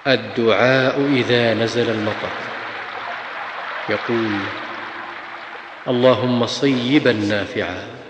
الدعاء إذا نزل المطر، يقول: اللهم صيبا نافعا.